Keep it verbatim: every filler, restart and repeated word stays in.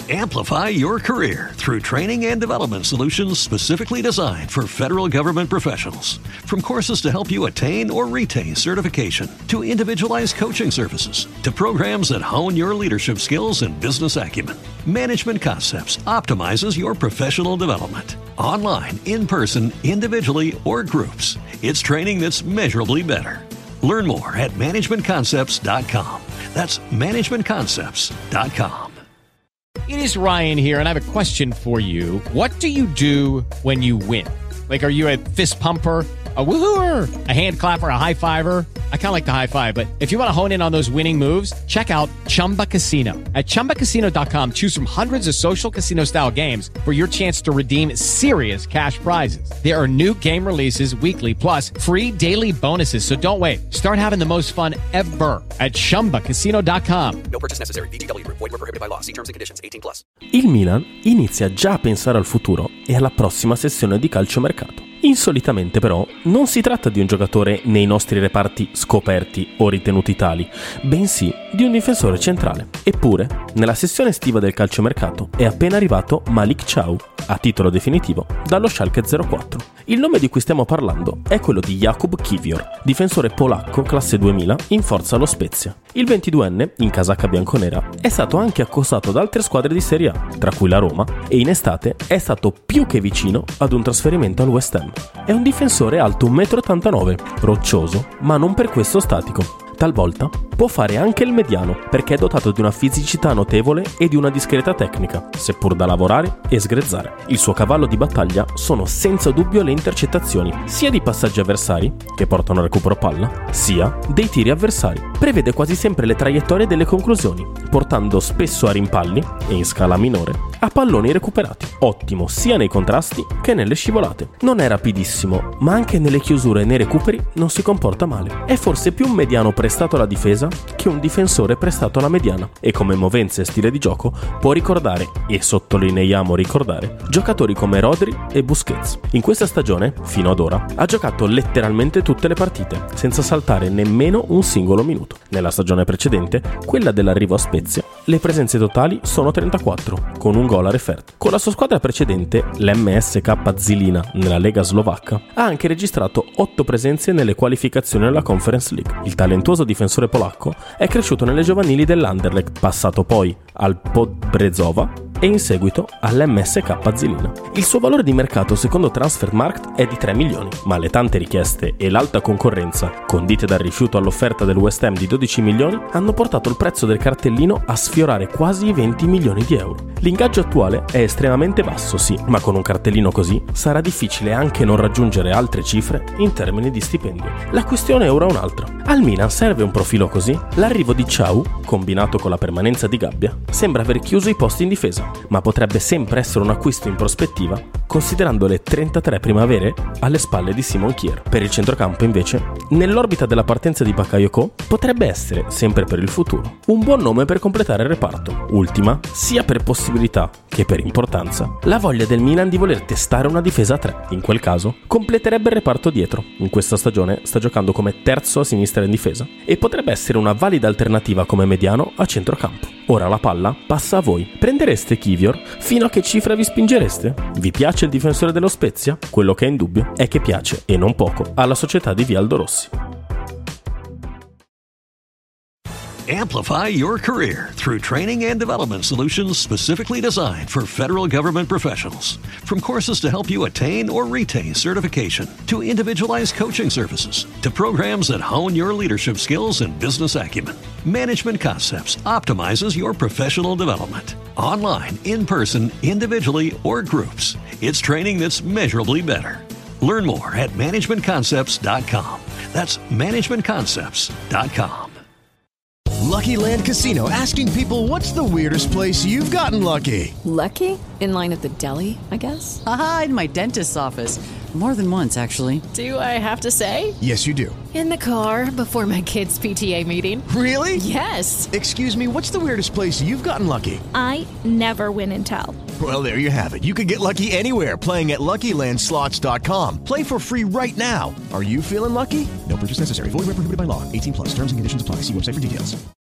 Amplify your career through training and development solutions specifically designed for federal government professionals. From courses to help you attain or retain certification, to individualized coaching services, to programs that hone your leadership skills and business acumen, Management Concepts optimizes your professional development. Online, in person, individually, or groups, it's training that's measurably better. Learn more at management concepts dot com. That's management concepts dot com. It is Ryan here, and I have a question for you. What do you do when you win? Like, are you a fist pumper, a woohooer, a hand clapper, a high fiver? I kind of like the high five, but if you want to hone in on those winning moves, check out Chumba Casino. At chumba casino dot com, choose from hundreds of social casino-style games for your chance to redeem serious cash prizes. There are new game releases weekly, plus free daily bonuses, so don't wait. Start having the most fun ever at chumba casino dot com. No purchase necessary. V G W Group. Void where prohibited by law. See terms and conditions. eighteen plus. Il Milan inizia già a pensare al futuro e alla prossima sessione di calciomercato. Insolitamente però non si tratta di un giocatore nei nostri reparti scoperti o ritenuti tali, bensì di un difensore centrale. Eppure, nella sessione estiva del calciomercato è appena arrivato Malik Thiaw, a titolo definitivo, dallo Schalke zero quattro. Il nome di cui stiamo parlando è quello di Jakub Kiwior, difensore polacco classe duemila in forza allo Spezia. Il ventiduenne, in casacca bianconera, è stato anche accostato da altre squadre di Serie A, tra cui la Roma, e in estate è stato più che vicino ad un trasferimento al West Ham. È un difensore alto uno virgola ottantanove metri, roccioso, ma non per questo statico. Talvolta può fare anche il mediano, perché è dotato di una fisicità notevole e di una discreta tecnica, seppur da lavorare e sgrezzare. Il suo cavallo di battaglia sono senza dubbio le intercettazioni, sia di passaggi avversari, che portano al recupero palla, sia dei tiri avversari. Prevede quasi sempre le traiettorie delle conclusioni, portando spesso a rimpalli, e in scala minore, a palloni recuperati. Ottimo sia nei contrasti che nelle scivolate. Non è rapidissimo, ma anche nelle chiusure e nei recuperi non si comporta male. È forse più un mediano prestato alla difesa che un difensore prestato alla mediana, e come movenze e stile di gioco può ricordare, e sottolineiamo ricordare, giocatori come Rodri e Busquets. In questa stagione, fino ad ora, ha giocato letteralmente tutte le partite, senza saltare nemmeno un singolo minuto. Nella stagione precedente, quella dell'arrivo a Spezia, le presenze totali sono trentaquattro, con un gol a referto. Con la sua squadra precedente, l'M S K Zilina, nella Lega slovacca, ha anche registrato otto presenze nelle qualificazioni alla Conference League. Il talentuoso difensore polacco è cresciuto nelle giovanili dell'Anderlecht, passato poi al Podbrezova e in seguito all'M S K Zilina. Il suo valore di mercato secondo Transfermarkt è di tre milioni, ma le tante richieste e l'alta concorrenza, condite dal rifiuto all'offerta del West Ham di dodici milioni, hanno portato il prezzo del cartellino a sfiorare quasi i venti milioni di euro. L'ingaggio attuale è estremamente basso, sì, ma con un cartellino così sarà difficile anche non raggiungere altre cifre in termini di stipendio. La questione è ora un'altra. Al Milan serve un profilo così? L'arrivo di Thiaw, combinato con la permanenza di Gabbia, sembra aver chiuso i posti in difesa, ma potrebbe sempre essere un acquisto in prospettiva, considerando le trentatré primavere alle spalle di Simon Kjær. Per il centrocampo, invece, nell'orbita della partenza di Bakayoko, potrebbe essere, sempre per il futuro, un buon nome per completare il reparto. Ultima, sia per possibilità che per importanza, la voglia del Milan di voler testare una difesa a tre. In quel caso, completerebbe il reparto dietro. In questa stagione sta giocando come terzo a sinistra in difesa e potrebbe essere una valida alternativa come mediano a centrocampo. Ora la palla passa a voi. Prendereste Kiwior? Fino a che cifra vi spingereste? Vi piace il difensore dello Spezia? Quello che è in dubbio è che piace, e non poco, alla società di Vialdo Rossi. Amplify your career through training and development solutions specifically designed for federal government professionals. From courses to help you attain or retain certification, to individualized coaching services, to programs that hone your leadership skills and business acumen, Management Concepts optimizes your professional development. Online, in person, individually, or groups, it's training that's measurably better. Learn more at management concepts dot com. That's management concepts dot com. Lucky Land Casino, asking people, what's the weirdest place you've gotten lucky? Lucky? In line at the deli, I guess? Aha, in my dentist's office. More than once, actually. Do I have to say? Yes, you do. In the car before my kids' P T A meeting. Really? Yes. Excuse me, what's the weirdest place you've gotten lucky? I never win and tell. Well, there you have it. You can get lucky anywhere, playing at Lucky Land Slots dot com. Play for free right now. Are you feeling lucky? No purchase necessary. Void where prohibited by law. eighteen plus. Terms and conditions apply. See website for details.